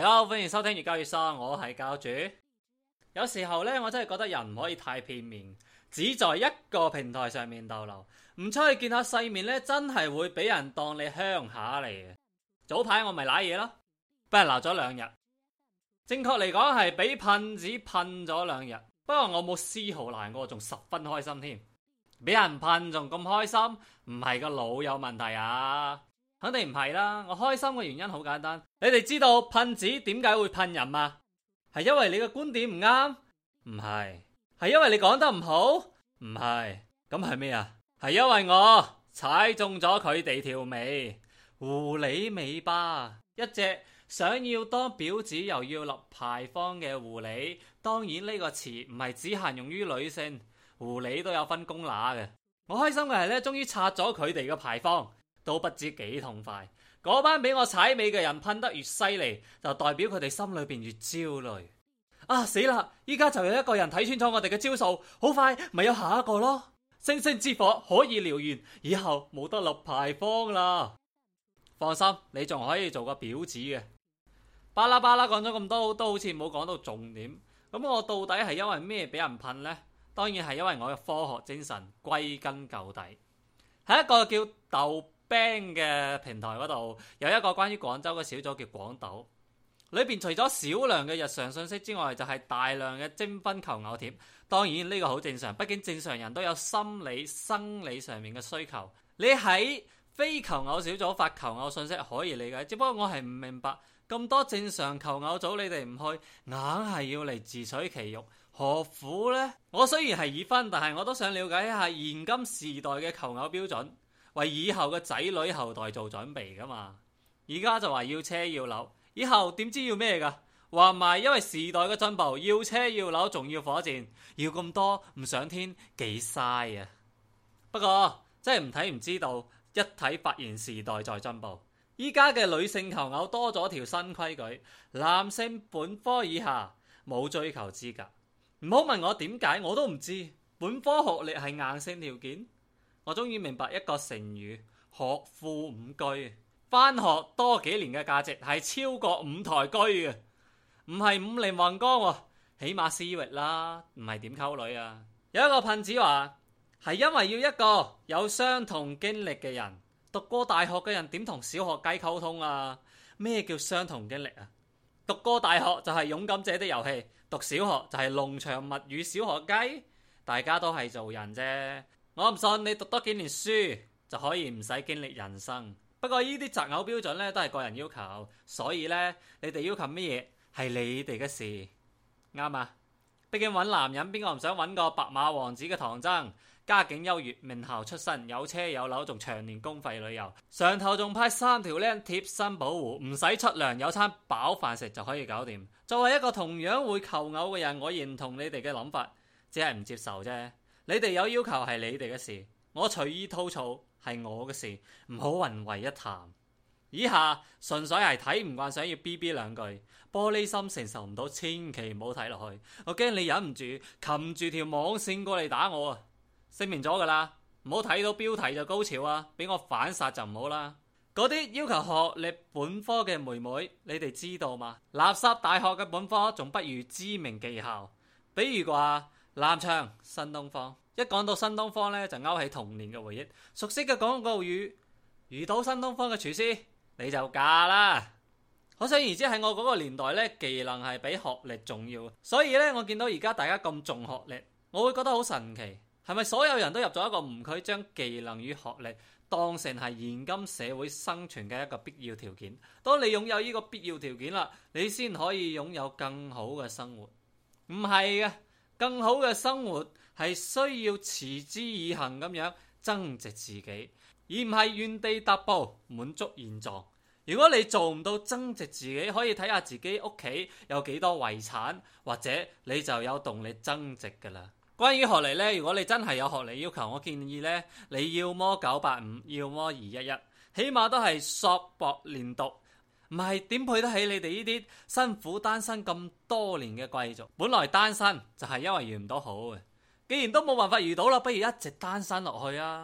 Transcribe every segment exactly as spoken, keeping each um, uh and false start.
好，歡迎收聽粵教粵喪，我係教主。有時候呢，我真係覺得人唔可以太片面，只在一個平台上面逗留，唔出去見下世面呢，真係會俾人當你鄉下嚟嘅。早排我咪瀨嘢咯，俾人鬧咗兩日。正確嚟講係俾噴子噴咗兩日，不過我冇絲毫難過，仲十分開心添。俾人噴仲咁開心，唔係個腦有問題啊？肯定唔係啦，我開心嘅原因好簡單，你哋知道噴子點解會噴人嗎？係因為你嘅觀點唔啱？唔係。係因為你講得唔好？唔係。咁係咩啊？係因為我踩中咗佢哋條尾，狐狸尾巴，一隻想要當婊子又要立牌坊嘅狐狸。當然呢個詞唔係只限用於女性，狐狸都有分公乸嘅。我開心嘅係呢，終於拆咗佢哋嘅牌坊。都不知幾痛快，嗰班俾我踩尾嘅人噴得越犀利，就代表佢哋心裏邊越焦慮。啊死啦！依家就有一個人睇穿咗我哋嘅招數，好快咪有下一個咯。星星之火可以燎原，以後冇得立牌坊啦。放心，你仲可以做個婊子嘅。巴拉巴拉講咗咁多，都好似冇講到重點。咁我到底係因為咩俾人噴呢？當然係因為我嘅科學精神。歸根究底，係一個叫豆 Bang 嘅平台嗰度有一個關於廣州嘅小組叫廣豆，裏邊除咗少量嘅日常信息之外，就係大量嘅徵婚求偶貼。當然呢個好正常，畢竟正常人都有心理生理上面嘅需求。你喺非求偶小組發求偶信息可以理解，只不過我係唔明白咁多正常求偶組你哋唔去，硬係要嚟自取其辱，何苦呢？我雖然係已婚，但係我都想了解一下現今時代嘅求偶標準，為以後嘅仔女後代做準備噶嘛。而家就話要車要樓，以後點知要咩噶？話埋因為時代嘅進步，要車要樓仲要火箭，要咁多唔上天幾嘥啊！不過真係唔睇唔知道，一睇發現時代在進步。依家嘅女性求偶多咗條新規矩，男性本科以下冇追求資格。唔好問我點解，我都唔知。本科學歷係硬性條件。我終於明白一個成語，學富五車。返學多幾年嘅價值係超過五台車嘅，唔係五菱宏光喎，起碼思域啦，唔係點溝女啊？有一個噴子話係因為要一個有相同經歷嘅人。讀過大學嘅人點同小學雞溝通啊？咩叫相同經歷啊？讀過大學就係勇敢者的遊戲，讀小學就係農場物語小學雞，大家都係做人啫。我唔信你讀多幾年書就可以唔使經歷人生。不過呢啲擇偶標準咧都係個人要求，所以咧你哋要求乜嘢係你哋嘅事，啱啊？畢竟揾男人邊個唔想揾個白馬王子嘅唐僧，家境優越，名校出身，有車有樓，仲長年公費旅遊，上頭仲派三條靚貼身保護，唔使出糧，有餐飽飯食就可以搞掂。作為一個同樣會求偶嘅人，我認同你哋嘅諗法，只係唔接受啫。你哋有要求係你哋嘅事，我隨意吐槽係我嘅事，唔好混為一談。以下純粹係睇唔慣，想要 B B 兩句，玻璃心承受唔到，千祈唔好睇落去。我驚你忍唔住擒住條網線過嚟打我啊！聲明咗噶啦，唔好睇到標題就高潮啊，俾我反殺就唔好啦。嗰啲要求學歷本科嘅妹妹，你哋知道嗎？垃圾大學嘅本科仲不如知名技校，比如話南昌、新東方。一講到新東方呢，就勾起童年嘅回憶。熟悉嘅廣告語，遇到新東方嘅廚師你就嫁啦。可想而知喺我嗰個年代呢，技能係比學歷重要。所以呢，我見到而家大家咁重學歷，我會覺得好神奇。係咪所有人都入咗一個誤區，將技能與學歷當成係現今社會生存嘅一個必要條件？當你擁有呢個必要條件啦，你先可以擁有更好嘅生活。唔係嘅，更好嘅生活係需要持之以恆咁樣增值自己，而唔係原地踏步滿足現狀。如果你做唔到增值自己，可以睇下自己屋企有幾多遺產，或者你就有動力增值噶啦。關於學歷呢，如果你真係有學歷要求，我建議呢，你要麼九八五，要麼二一一，起碼都係碩博連讀，唔係點配得起你哋呢啲辛苦單身咁多年嘅貴族。本來單身就係因為遇唔到好嘅，既然都冇辦法遇到啦，不如一直單身落去啊！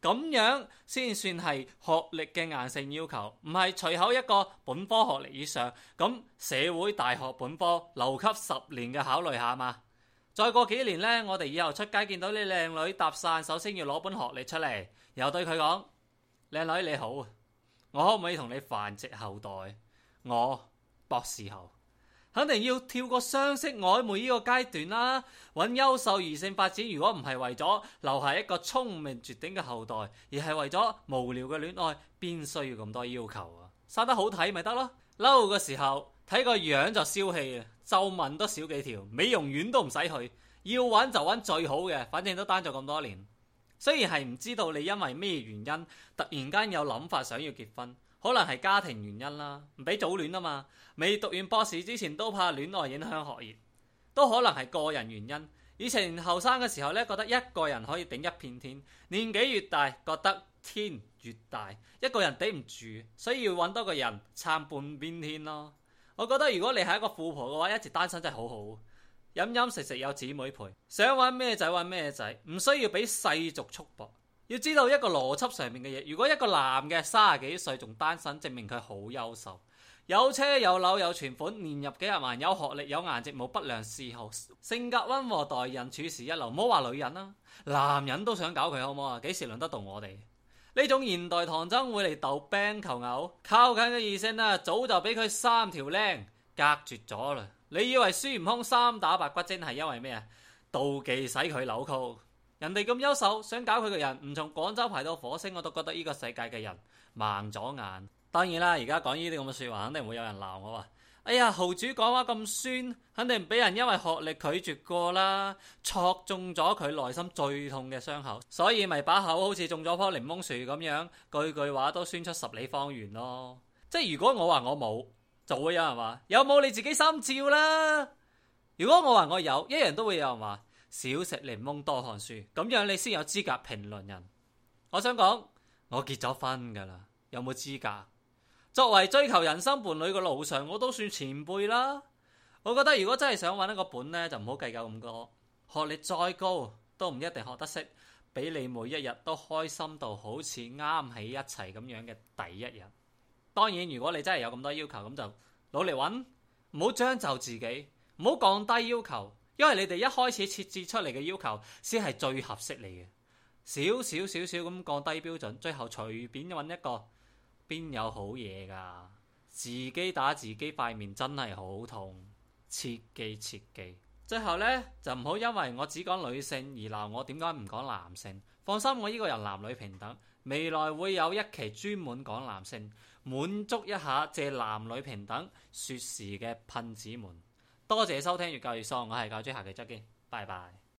咁樣先算係學歷嘅硬性要求，唔係隨口一個本科學歷以上，咁社會大學本科留級十年嘅考慮下嘛。再過幾年呢，我哋以後出街見到啲靚女搭訕，首先要攞本學歷出嚟，然後對佢講：靚女你好，我可唔可以同你繁殖後代？我博士後。肯定要跳過相識曖昧呢個階段啦，揾優秀異性發展。如果唔係為咗留下一個聰明絕頂嘅後代，而係為咗無聊嘅戀愛，邊需要咁多要求啊？生得好睇咪得咯，嬲嘅時候睇個樣就消氣啊，皺紋都少幾條，美容院都唔使去，要揾就揾最好嘅，反正都單咗咁多年。雖然係唔知道你因為咩原因突然間有諗法想要結婚。可能係家庭原因啦，唔俾早戀啊嘛。未讀完博士之前都怕戀愛影響學業，都可能係個人原因。以前後生嘅時候呢，覺得一個人可以頂一片天，年紀越大覺得天越大，一個人頂唔住，所以要揾多個人撐半邊天咯。我覺得如果你係一個富婆嘅話，一直單身真係好好，飲飲食食有姊妹陪，想揾咩仔揾咩仔，唔需要俾世俗束縛。要知道一個邏輯上面嘅嘢，如果一個男嘅三十幾歲仲單身，證明佢好優秀，有車有樓有存款，年入幾十萬，有學歷有顏值，冇不良嗜好，性格溫和，待人處事一流。唔好話女人啦，男人都想搞佢好唔好啊？幾時輪得到我哋呢種現代唐僧會嚟逗兵求偶？靠近嘅異性啊，早就俾佢三條靚隔絕咗啦。你以為孫悟空三打白骨精係因為咩啊？妒忌使佢扭曲。人哋咁優秀，想搞佢嘅人唔從廣州排到火星，我都覺得呢個世界嘅人盲咗眼。當然啦，而家講呢啲咁嘅說話，肯定會有人鬧我話：哎呀，豪主講話咁酸，肯定俾人因為學歷拒絕過啦，戳中咗佢內心最痛嘅傷口，所以咪把口好似種咗棵檸檬樹咁樣，句句話都酸出十里方圓咯。即係如果我話我冇，就會有人話有冇你自己心照啦。如果我話我有，一樣都會有人話少食檸檬多看書，咁樣你先有資格評論人。我想講，我結咗婚噶啦，有冇資格？作為追求人生伴侶嘅路上，我都算前輩啦。我覺得如果真係想揾一個本呢，就唔好計較咁多。學歷再高都唔一定學得識，俾你每一日都開心到好似啱喺一齊咁樣嘅第一日。當然，如果你真係有咁多要求，咁就努力揾，唔好將就自己，唔好降低要求。因為你哋一開始設置出嚟嘅要求先係最合適你嘅，少少少少咁降低標準，最後隨便揾一個，邊有好嘢噶？自己打自己塊面真係好痛，切記切記。最後呢，就唔好因為我只講女性而鬧我點解唔講男性。放心，我呢個人男女平等，未來會有一期專門講男性，滿足一下借男女平等說事嘅噴子們。多謝收聽粵教粵喪，我係教主，下期再見，拜拜。